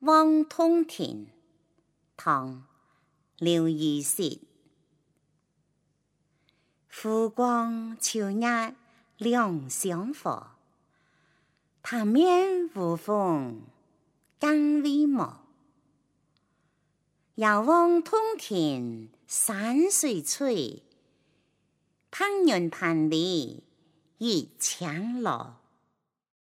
望通天，唐·刘禹锡。湖光秋月两相和，潭面无风更为茂。遥望通天山水翠，攀云攀里一江楼。